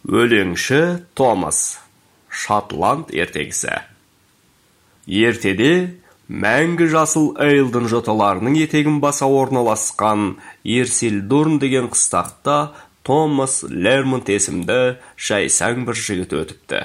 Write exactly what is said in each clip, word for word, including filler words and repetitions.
Өлеңші Томас. Шотланд ертегісі. Ертеде мәңгі жасыл Эйлден жоталарының етегін баса орналасқан Ерсилдурн деген қыстақта Томас Лермонт есімді жайсаң бір жігіт өтіпті.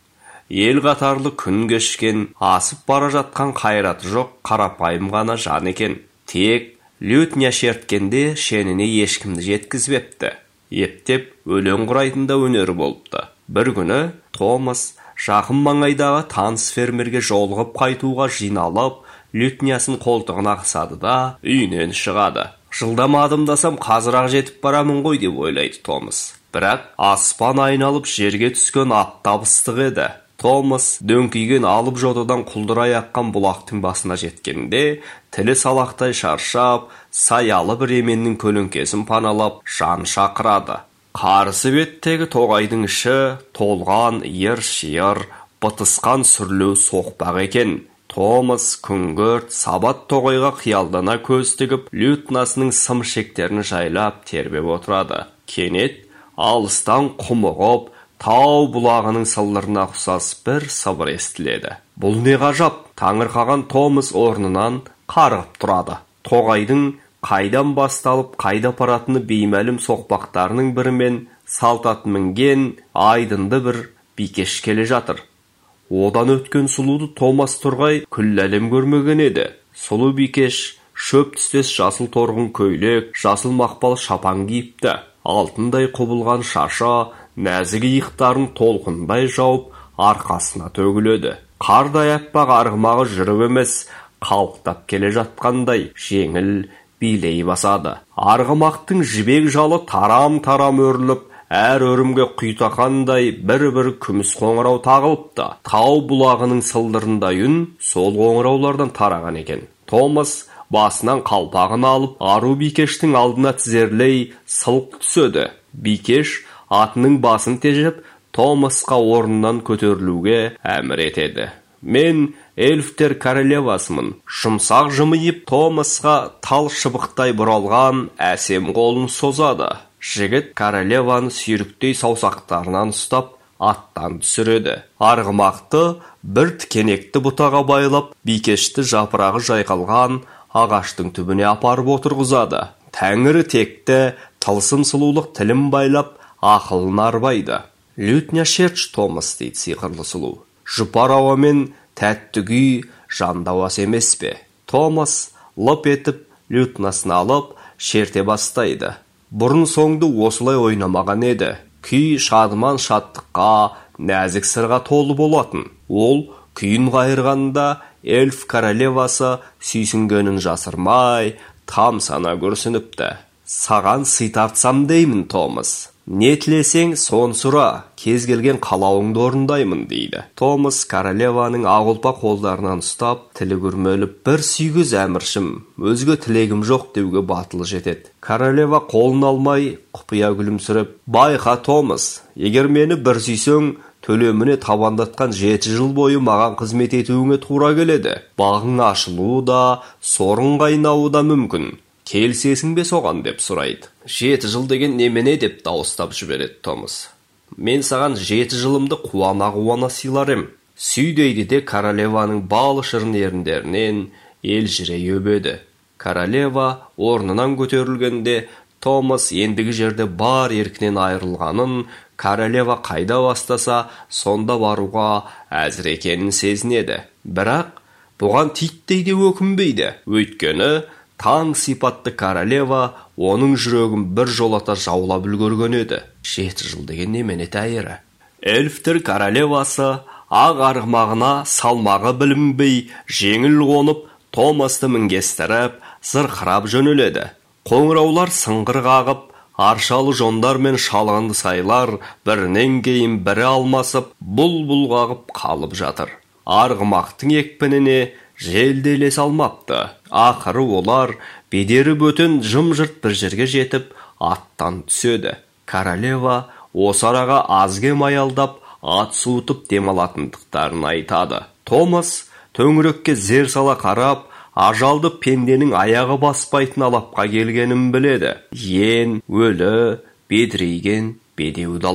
Ел қатарлы күн кешкен, асып бара жатқан қайраты жоқ қарапайым ғана жан екен. Тек лютня шерткенде шеніне ешкімді жеткізбепті. Ептеп өлең құрайтында өнері болыпты. Бір күні Томас жақын маңайдағы таныс фермерге жолығып қайтуға жиналып, лютнясын қолтығына қысады да үйінен шығады. Жылдам адымдасам қазір-ақ жетіп барамын ғой деп ойлайды Томас. Бірақ аспан айналып жерге түскен ат табыстық еді. Томас дөңкиген алып жотадан құлдырай аққан бұлақтың басына жеткенде, тілі салақтай шаршап, саялы бір еменнің көлеңкесін паналап, жан шақырады. Қарсы беттегі тоғайдың іші толған ер-шиыр, бытысқан сүрлеу соқпақ екен. Томас күңгірт, сабат тоғайға қиялдана көз тігіп, лютнасының сым шектерін жайлап тербеп отырады. Кенет алыстан құмығып, тау бұлағының сылдырына ұқсас бір сыбыр естіледі. Бұл не ғажап? Таңырқаған Томас орнынан қарғып тұрады. Тоғайдың қайдан басталып, қайда апаратыны беймәлім соқпақтарының бірімен салт ат мінген айдынды бір бикеш келе жатыр. Одан өткен сұлуды Томас тұрғай күллі әлем көрмеген еді. Сұлу бикеш шөп түстес жасыл торғын көйлек, жасыл мақпал шапан киіпті. Алтындай құбылған шаша нәзік иықтарын толқындай жауып, арқасына төгіледі. Қардай аппақ арғымағы жүріп емес, қалықтап келе жатқандай жеңіл билей басады. Арғымақтың жібек жалы тарам-тарам өріліп, әр өрімге құйтақандай бір-бір күміс қоңырау тағылыпты. Тау бұлағының сылдырындай үн сол қоңыраулардан тараған екен. Томас басынан қалпағын алып, ару бикештің алдына тізерлей сылқ түседі. Бикеш атының басын тежеп, Томасқа орнынан көтерілуге әмір етеді. Мен эльфтер королевасымын. Жұмсақ жымиып, Томасқа тал шыбықтай бұралған әсем қолын созады. Жігіт королеваны сүйріктей саусақтарынан ұстап, аттан түсіреді. Арғымақты бір тікенекті бұтаға байлап, бикешті жапырағы жайқалған ағаштың түбіне апарып отырғызады. Тәңірі текті, тылсым сұлулық тілін байлап, ақылын арбайды. Лютня шерч Томас дейді сиқырлы сұлу. Жұпар ауамен тәтті күй жандауас емес пе? Томас лып етіп, лютнасын алып, шерте бастайды. Бұрын соңды осылай ойнамаған еді. Күй шадыман шаттыққа, нәзік сырға толы болатын. Ол күйін қайырғанда эльф королевасы сүйсінгенін жасырмай, там сана көрсініпті. Саған сый тартсам деймін, Томас. Не тілесең, сон сұра, кез келген қалауыңды орындаймын, дейді. Томас королеваның ақ қолдарынан ұстап, тілі күрмеліп, бір сүйгіз әміршім, өзге тілегім жоқ деуге батылы жетеді. Королева қолын алмай, құпия күлімсіреп, байқа Томас, егер мені бір сүйсең, төлеміне табандатқан жеті жыл бойы маған қызмет етуіңе тура келеді. Бағың ашылуы да, сорың қайнауы да мүмкін. Келсесің бе соған деп сұрайды. Жеті жыл деген немене деп дауыстап жібереді Томас. Мен саған жеті жылымды қуана-қуана сыйлар ем. Сүй дейді де королеваның балы шырын еріндерінен елжірей өбеді. Королева орнынан көтерілгенде Томас ендігі жерде бар еркінен айырылғанын, королева қайда бастаса, сонда баруға әзір екенін сезінеді. Бірақ бұған титтей де өкінбейді. Өйткені таң сипатты королева оның жүрегін бір жолата жаулап үлгерген еді. Жеті жыл деген немене тәйірі. Эльфтер королевасы ақ арғымағына салмағы білінбей жеңіл қонып, Томасты мінгестіріп, зырқырап жөнеледі. Қоңыраулар сыңғыр қағып, аршалы жондар мен шалғынды сайлар бірінен кейін бірі алмасып, бұл-бұл қағып қалып жатыр. Арғымақтың екпініне желделес алмапты. Ақыры олар бедері бөтен жым-жырт бір жерге жетіп, аттан түседі. Королева осы араға азге маялдап, ат суытып демалатындықтарын айтады. Томас төңірекке зер сала қарап, ажалды пенденің аяғы баспайтын алапқа келгенін біледі. Ен, өлі, бедірейген, бедеу дала.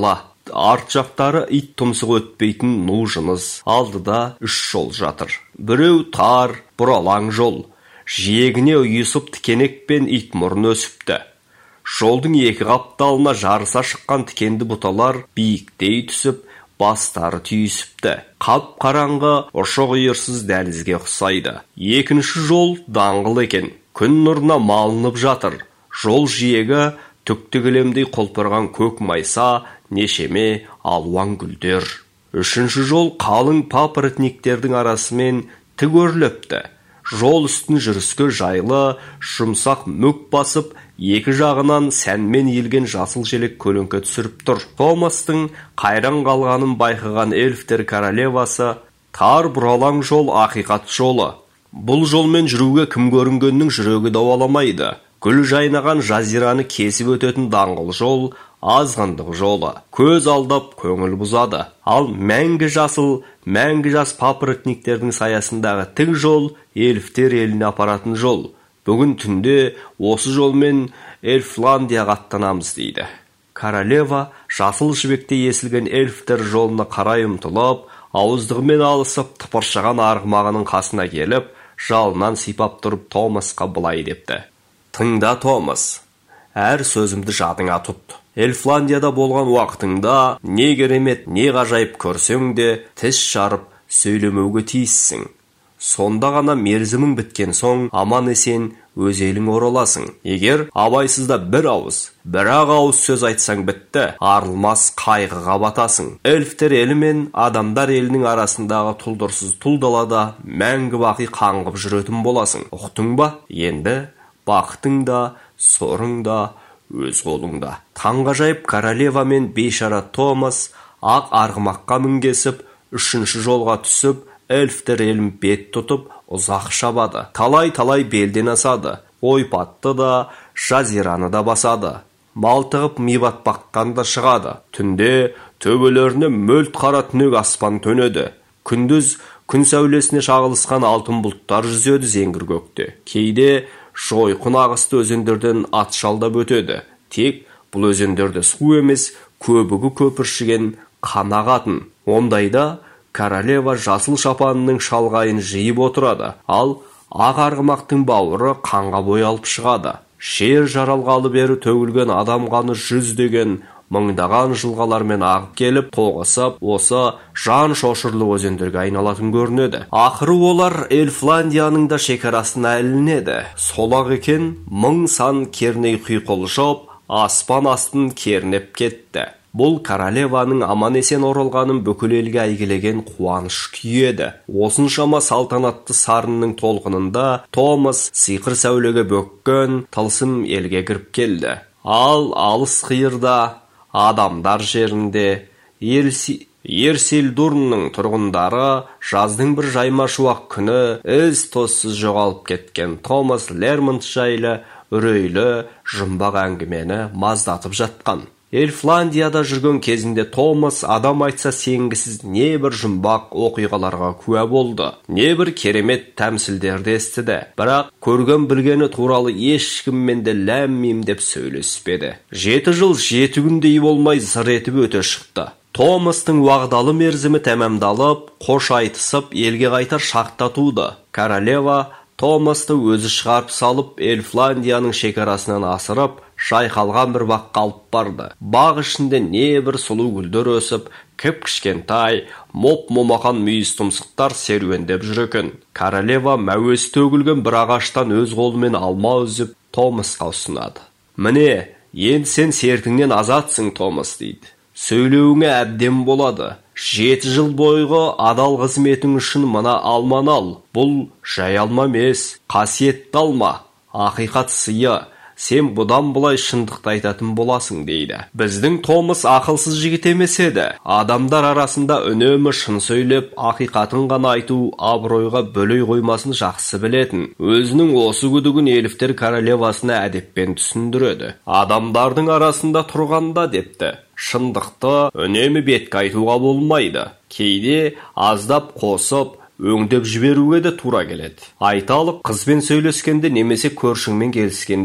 арт жақтары ит тұмсығы өтпейтін ну жыныс. Алдыда үш жол жатыр. Біреу тар, бұралаң жол. Жиегіне ұйысып тікенек пен ит мұрын өсіпті. Жолдың екі қапталына жарыса шыққан тікенді бұталар биіктей түсіп, бастары түйісіпті. Қап қараңғы, ұшы қиырсыз дәлізге ұқсайды. Екінші жол даңғыл екен. Күн нұрына малынып жатыр. Жол жиегі түкті кілемдей құлпырған көк майса, нешеме алуан гүлдер. Үшінші жол қалың папоротниктердің арасымен тік өрлепті. Жол үстін жүріске жайлы, жұмсақ мүк басып, екі жағынан сәнмен елген жасыл желек көлеңке түсіріп тұр. Томастың қайран қалғанын байқаған эльфтер королевасы: тар бұралаң жол ақиқат жолы. Бұл жолмен жүруге кім көрінгеннің жүрегі дауаламайды. Гүл жайнаған жазираны кесіп өтетін даңғыл жол азғындық жолы. Көз алдап көңіл бұзады. Ал мәңгі жасыл, мәңгі жас папоротниктердің саясындағы тік жол эльфтер еліне апаратын жол. Бүгін түнде осы жолмен Эльфландияға аттанамыз дейді. Королева жасыл жібекте есілген эльфтер жолына қарай ұмтылып, ауыздығымен алысып тыпыршыған арғымағының қасына келіп, жалынан сипап тұрып Томасқа былай депті: тыңда, Томас, әр сөзімді жадыңа тұт. Эльфландияда болған уақытыңда не керемет, не ғажайып көрсең де тіс жарып сөйлемеуге тиіссің. Сонда ғана мерзімің біткен соң аман есен өз елің ораласың. Егер абайсызда бір ауыз, бір-ақ ауыз сөз айтсаң бітті, арылмас қайғыға батасың. Эльфтер елі мен адамдар елінің арасындағы тұлдырсыз тұл далада мәңгі бақи қаңғып жүретін боласың. Ұқтың ба? Енді бақытың да, сорың да өз қолыңда. Таңғажайып королева мен бейшара Томас ақ арғымаққа мінгесіп, үшінші жолға түсіп, эльфтер елін бет тұтып, ұзақ шабады. Талай-талай белден асады. Ойпатты да, жазираны да басады. Малтығып мибат баққанда шығады. Түнде төбелеріне мөлт қара түнек аспан төнеді. Күндіз күн сәулесіне шағылысқан алтын бұлттар жүзеді зеңгір көкте. Кейде жойқын ағысты өзендерден ат шалдап өтеді. Тек бұл өзендерде су емес, көбігі көпіршіген қанағатын. Ондайда королева жасыл шапанының шалғайын жиып отырады, ал ақ арғымақтың бауыры қанға боялып шығады. Жер жаралғалы бері төгілген адам қаны жүздеген, мыңдаған жылғалармен ағып келіп, тоғысып, осы жан шошырлы өзендерге айналатын көрінеді. Ақыры олар Эльфландияның да шекарасына ілінеді. Сол-ақ екен, мың сан керней құйқылжып, аспан астын кернеп кетті. Бұл королеваның аман есен оралғанын бүкіл елге әйгілеген қуаныш күйеді. Осыншама салтанатты сарынның толқынында Томас сиқыр сәулеге бөккен тылсым елге кіріп келді. Ал алыс қиырда, адамдар жерінде, Ерсилдурнның тұрғындары жаздың бір жайма шуақ күні із тоссыз жоғалып кеткен Томас Лермонт жайлы үрейлі жұмбақ әңгімені маздатып жатқан. Эльфландияда жүрген кезінде Томас адам айтса сенгісіз не бір жұмбақ оқиғаларға куә болды, не бір керемет тәмсілдерді естіді. Бірақ көрген білгені туралы ешкіммен де ләм-мим деп сөйлеспеді. Жеті жыл жеті күндей болмай зыр етіп өте шықты. Томастың уағдалы мерзімі тәмамдалып, қош айтысып, елге қайтар шақта туды. Королева Томасты өзі шығарып салып, Эльфландияның шекарасынан асырып, шайқалған бір баққа алып барды. Бақ ішінде не бір сұлу гүлдер өсіп, кіп-кішкентай, моп-момақан мүйіз тұмсықтар серуендеп жүр екен. Королева мәуесі төгілген бір ағаштан өз қолымен алма үзіп, Томасқа ұсынады. Міне, енді сен сертіңнен азатсың, Томас, дейді. Сөйлеуіңе әбден болады. Жеті жыл бойғы адал қызметің үшін мына алманы ал. Бұл жай алма емес, қасиетті алма, ақиқат сыйы. Сен бұдан бұлай шындықты айтатын боласың, дейді. Біздің Томас ақылсыз жігіт емес еді. Адамдар арасында үнемі шын сөйлеп, ақиқатын ғана айту абыройға бөлей қоймасын жақсы білетін. Өзінің осы күдігін эльфтер королевасына әдеппен түсіндіреді. Адамдардың арасында тұрғанда, депті, шындықты үнемі бетке айтуға болмайды. Кейде аздап қосып, өңдеп жіберуге де тура келеді. Айталық, қызбен сөйлескенде немесе көршіңмен келіскенде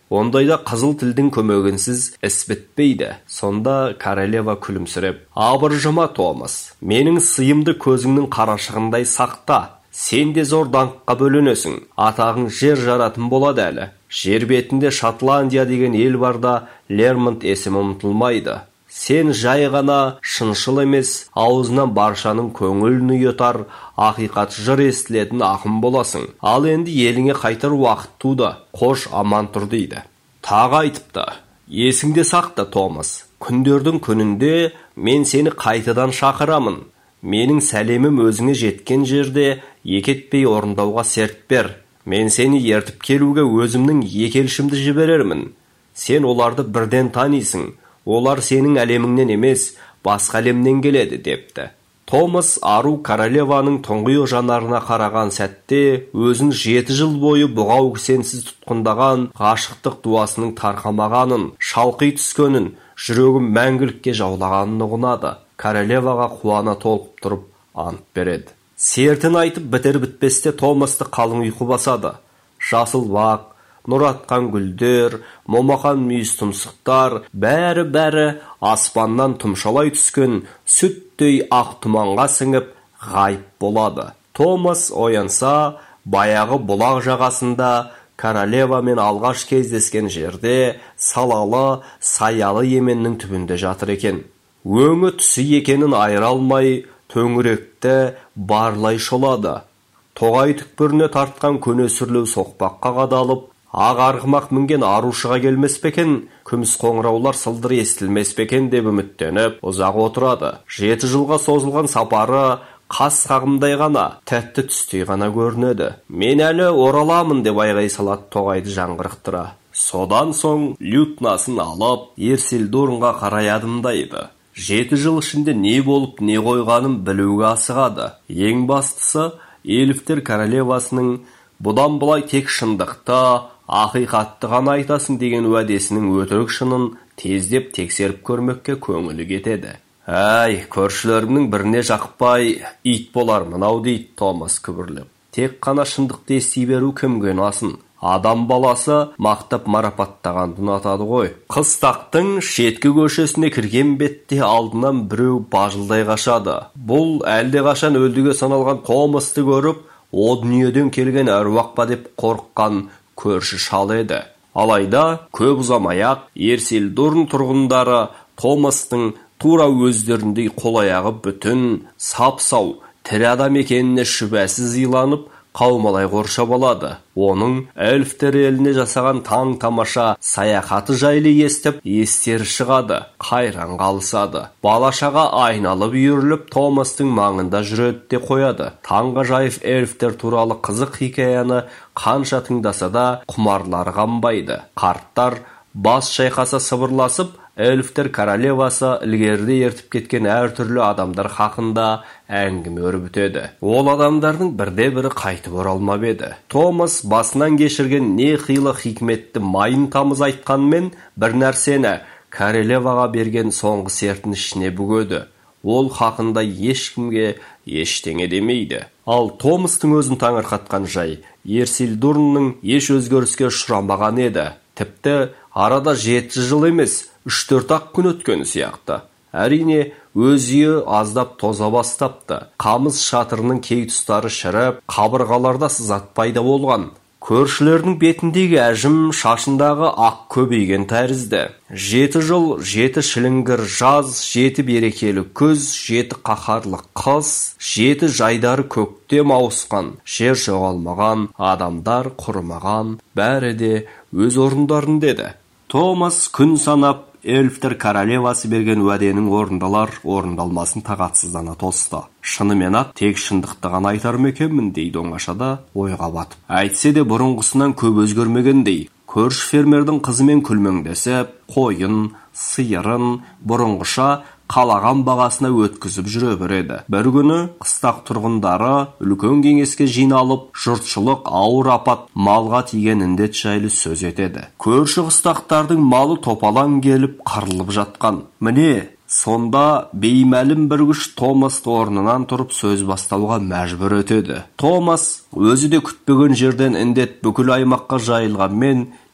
Ондайда қызыл тілдің көмегінсіз іс бітпейді. Сонда королева күлімсіреп: абыржыма, Томас, менің сыйымды көзіңнің қарашығындай сақта. Сен де зор даңққа бөленесің. Атағың жер жаратын болады әлі. Жер бетінде Шотландия деген ел барда Лермонт есімі ұмытылмайды. Сен жай ғана шыншыл емес, аузынан баршаның көңілін ұйытар, ақиқат жыр естілетін ақын боласың. Ал енді еліңе қайтар уақыт туды. Қош аман тұр дейді. Тағы айтыпты: есіңде сақта, Томас. Күндердің күнінде мен сені қайтадан шақырамын. Менің сәлемім өзіңе жеткен жерде екетпей орындауға серт бер. Мен сені ертіп келуге өзімнің екелшімді жіберермін. Сен оларды бірден танисың. Олар сенің әлеміңнен емес, басқа әлемнен келеді, депті. Томас ару королеваның тұңғиық жанарына қараған сәтте өзін жеті жыл бойы бұғау кісенсіз тұтқындаған ғашықтық дуасының тарқамағанын, шалқи түскенін, жүрегін мәңгілікке жаулағанын ұғынады. Королеваға қуана толқып тұрып ант береді. Сертін айтып бітер бітпесте Томасты қалың ұйқы басады. Жасыл бақ, нұр атқан гүлдер, момақан мүйіз тұмсықтар, бәрі-бәрі аспаннан тұмшалай түскен сүттей ақ тұманға сіңіп ғайып болады. Томас оянса, баяғы бұлақ жағасында королевамен алғаш кездескен жерде салалы, саялы еменнің түбінде жатыр екен. Өңі түсі екенін айыра алмай, төңіректі барлай шолады. Тоғай түкпіріне тартқан көне сүрлеу соқпаққа қадалып, ақ арғымақ мінген арушыға келмес пекен, күміс қоңыраулар сылдыр естілмес пекен деп үміттеніп ұзақ отырады. Жеті жылға созылған сапары қас қағымдай ғана, тәтті түстей ғана көрінеді. Мен әлі ораламын деп айғай салады тоғайды жаңғырықтыра. Содан соң лютнасын алып, Ерсилдорнға қарай адымдайды. Жеті жыл ішінде не болып не қойғанын білуге асығады. Ең бастысы, эльфтер королевасының бұдан бұлай тек шындықты, ақиқатты ғана айтасың деген уәдесінің өтірік шынын тездеп тексеріп көрмекке көңілі кетеді. Әй, көршілерімнің біріне жақпай, ит болар мынау дейді Томас күбірлеп. Тек қана шындықты ести беру кімге ұнасын? Адам баласы мақтап марапаттағанды ұнатады ғой. Қыстақтың шеткі көшесіне кірген бетте алдынан біреу бажылдай қашады. Бұл әлде қашан өлдіге саналған Томасты көріп, о дүниеден келген әруақ па деп қорыққан көрші шал еді. Алайда көп ұзамай-ақ Ерсилдорн тұрғындары Томастың тура өздеріндей қол-аяғы бүтін, сап-сау, тірі адам екеніне шүбәсіз иланып, қаумалай қоршап алады. Оның эльфтер еліне жасаған таң тамаша саяхаты жайлы естіп, естері шығады, қайран қалысады. Балашаға айналып үйіріліп, Томастың маңында жүреді де қояды. Таңғажайып эльфтер туралы қызық хикаяны қанша тыңдаса да құмарлары қанбайды. Қарттар бас шайқаса сыбырласып, эльфтер королевасы ілгерде ертіп кеткен әртүрлі адамдар хақында әңгіме өрбітеді. Ол адамдардың бірде-бірі қайтып оралмап еді. Томас басынан кешірген не қилы хикметті майын тамыз айтқанмен бір нәрсені королеваға берген соңғы сертін ішіне бүгеді. Ол хақында ешкімге ештеңе демейді. Ал Томастың өзін таңырқатқан жай Ерсилдорнның еш өзгеріске ұшырамаған еді. Тіпті арада жеті жыл емес, үш-төрт ақ күн өткені сияқты. Әрине, өз үйі аздап тоза бастапты. Қамыс шатырының кей тұстары шіріп, қабырғаларда сызат пайда болған. Көршілердің бетіндегі әжім шашындағы ақ көбейген тәрізді. Жеті жыл, жеті шіліңгір жаз, жеті берекелі күз, жеті қаһарлы қыс, жеті жайдары көктем ауысқан, жер жоғалмаған, адамдар құрымаған, бәрі де өз орындарын деді. Томас күн санап, эльфтер королевасы берген уәденің орындалар, орындалмасын тағатсыздана тосты. Шынымен-ақ тек шындықты ғана айтар ма екенмін дейді оңашада ойға батып. Әйтсе де бұрынғысынан көп өзгермегендей. Көрші фермердің қызымен күлмеңдесіп, қойын, сиырын бұрынғыша қалаған бағасына өткізіп жүре береді. Бір күні қыстақ тұрғындары үлкен кеңеске жиналып, жұртшылық ауыр апат малға тиген індет жайлы сөз етеді. Көрші қыстақтардың малы топалаң келіп қырылып жатқан. Міне, сонда беймәлім бір күш Томасты орнынан тұрып сөз бастауға мәжбүр етеді. Томас өзі де күтпеген жерден індет бүкіл аймаққа жайылғанмен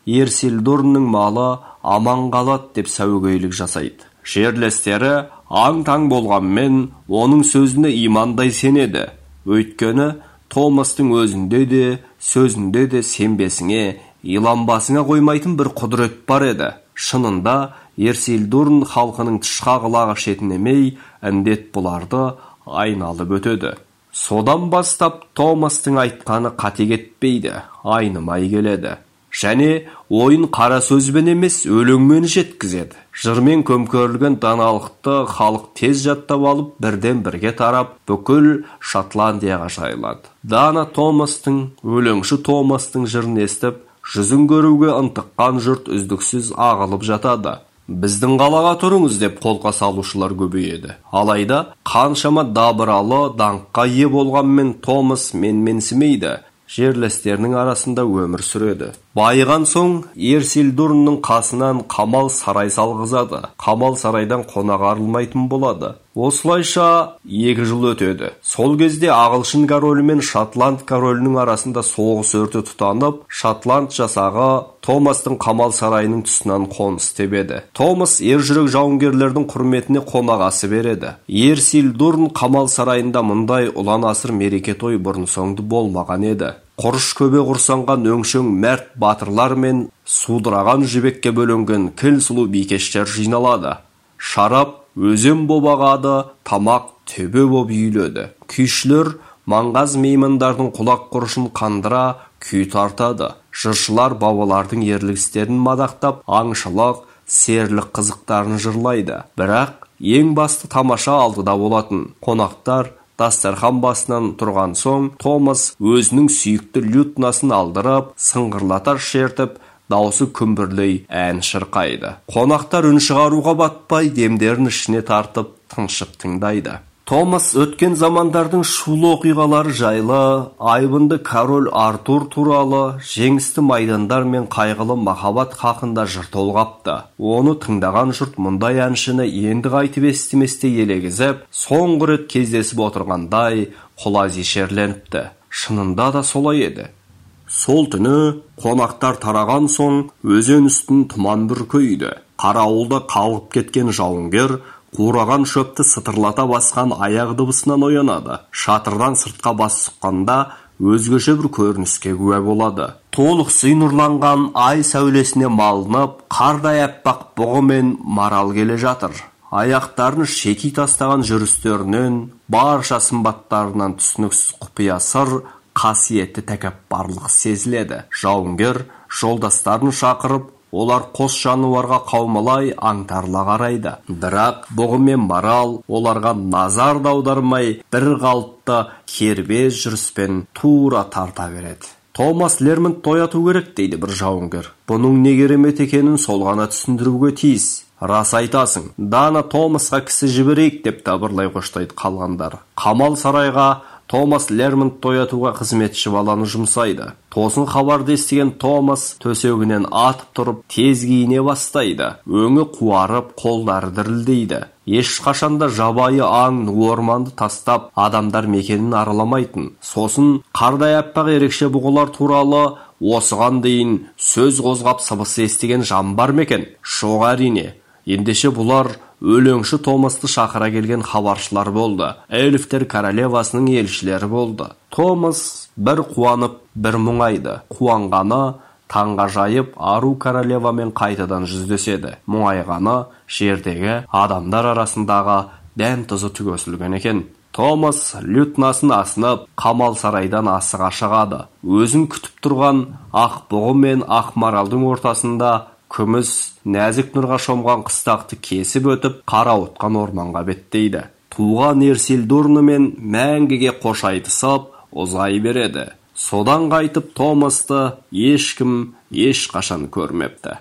Ерсилдурнның малы аман қалады деп сәуегейлік жасайды. Жерлестері аң-таң болғанмен оның сөзіне имандай сенеді. Өйткені Томастың өзінде де, сөзінде де сенбесіңе, иланбасыңа қоймайтын бір құдірет бар еді. Шынында Ерсилдурн халқының тышқа құлағы шетінемей, індет бұларды айналып өтеді. Содан бастап Томастың айтқаны қате кетпейді, айнымай келеді. Және ойын қара сөзбен емес, өлеңмен жеткізеді. Жырмен көмкерілген даналықты халық тез жаттап алып, бірден бірге тарап, бүкіл Шотландияға жайылады. Дана Томастың, өлеңші Томастың жырын естіп, жүзін көруге ынтыққан жұрт үздіксіз ағылып жатады. Біздің қалаға тұрыңыз деп қолқа салушылар көбейеді. Алайда қаншама дабыралы даңққа ие болғанмен Томас менменсімейді. Жерлестерінің арасында өмір сүреді. Байыған соң Ерсилдурнның қасынан қамал сарай салғызады. Қамал сарайдан қонақ арылмайтын болады. Осылайша екі жыл өтеді. Сол кезде Ағылшын королі мен Шотланд королінің арасында соғыс өрті тұтанып, Шотланд жасағы Томастың қамал сарайының тұсынан қоныс тебеді. Томас ержүрек жауынгерлердің құрметіне қонағасы береді. Ерсилдурн қамал сарайында мұндай ұлан асыр мереке той бұрын соңды болмаған еді. Құрыш көбе құрсанған өңшөң мәрт батырлар мен судыраған жібекке бөлінген кіл сұлу бикештер жиналады. Шарап өзен боп ағады, тамақ төбе боп үйіледі. Күйшілер маңғаз меймандардың құлақ құрышын қандыра күй тартады. Жыршылар бабалардың ерлік істерін мадақтап, аңшылық, серлік қызықтарын жырлайды. Бірақ ең басты тамаша алдыда болатын. Қонақтар дастархан басынан тұрған соң, Томас өзінің сүйікті лютнасын алдырып, сыңғырлата шертіп, даусы күмбірлей ән шырқайды. Қонақтар үн шығаруға батпай, демдерін ішіне тартып, тыншып тыңдайды. Томас өткен замандардың шулы оқиғалары жайлы, айбынды король Артур туралы, жеңісті майдандар мен қайғылы махаббат хақында жыр толғапты. Оны тыңдаған жұрт мұндай әншіні енді қайтып естіместе елегізіп, соңғы рет кездесіп отырғандай құлази шерленіпті. Шынында да солай еді. Сол түні қонақтар тараған соң өзен үстін тұман бүркейді. Қарауылда қалғып кеткен жауынгер қураған шөпті сытырлата басқан аяқ дыбысынан оянады. Шатырдан сыртқа бас сұққанда өзгеше бір көрініске куә болады. Толық сый нұрланған ай сәулесіне малынып, қардай аппақ бұғы мен марал келе жатыр. Аяқтарын шеки тастаған жүрістерінен, барша сымбаттарынан түсініксіз құпия сыр, қасиетті тәкаппарлық сезіледі. Жауынгер жолдастарын шақырып, олар қос жануарға қаумалай аңтарыла қарайды. Бірақ бұғы мен марал оларға назар аудармай, бір қалыпты кербез жүріспен тура тарта береді. Томас Лермонт тояту керек дейді бір жауынгер. Бұның не керемет екенін сол ғана түсіндіруге тиіс. Рас айтасың. Дана Томасқа кісі жіберейік деп дабырлай қоштайды қалғандар. Қамал сарайға Томас Лермонт тоятуға қызметші баланы жұмсайды. Тосын хабарды естіген Томас төсегінен атып тұрып, тез киіне бастайды. Өңі қуарып, қолдары дірілдейді. Ешқашанда жабайы аң орманды тастап, адамдар мекенін араламайтын. Сосын қардай аппақ ерекше бұғылар туралы осыған дейін сөз қозғап сыбыс естіген жан бар мекен? Жоқ әрине. Ендеше бұлар өлеңші Томасты шақыра келген хабаршылар болды. Эльфтер королевасының елшілері болды. Томас бір қуанып, бір мұңайды. Қуанғаны таңға жайып, ару королевамен қайтадан жүздеседі. Мұңайғаны жердегі адамдар арасындағы дәм тұзы түгесілген екен. Томас лютнасын асынып, қамал сарайдан асыға шығады. Өзін күтіп тұрған ақ бұғы мен ақ маралдың ортасында күміс, нәзік нұрға шомған қыстақты кесіп өтіп, қарауытқан орманға беттейді. Туған Ерсилдурнымен мәңгіге қош айтысып, ұзай береді. Содан қайтып Томасты ешкім ешқашан көрмепті.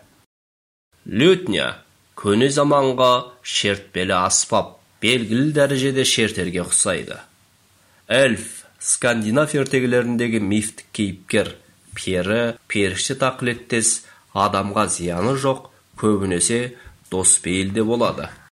Лютня көне заманға шертпелі аспап, белгілі дәрежеде шертерге ұқсайды. Эльф скандинав ертегілеріндегі мифтік кейіпкер, пері, періште тақылеттес, адамға зияны жоқ, көбінесе дос бейілде болады.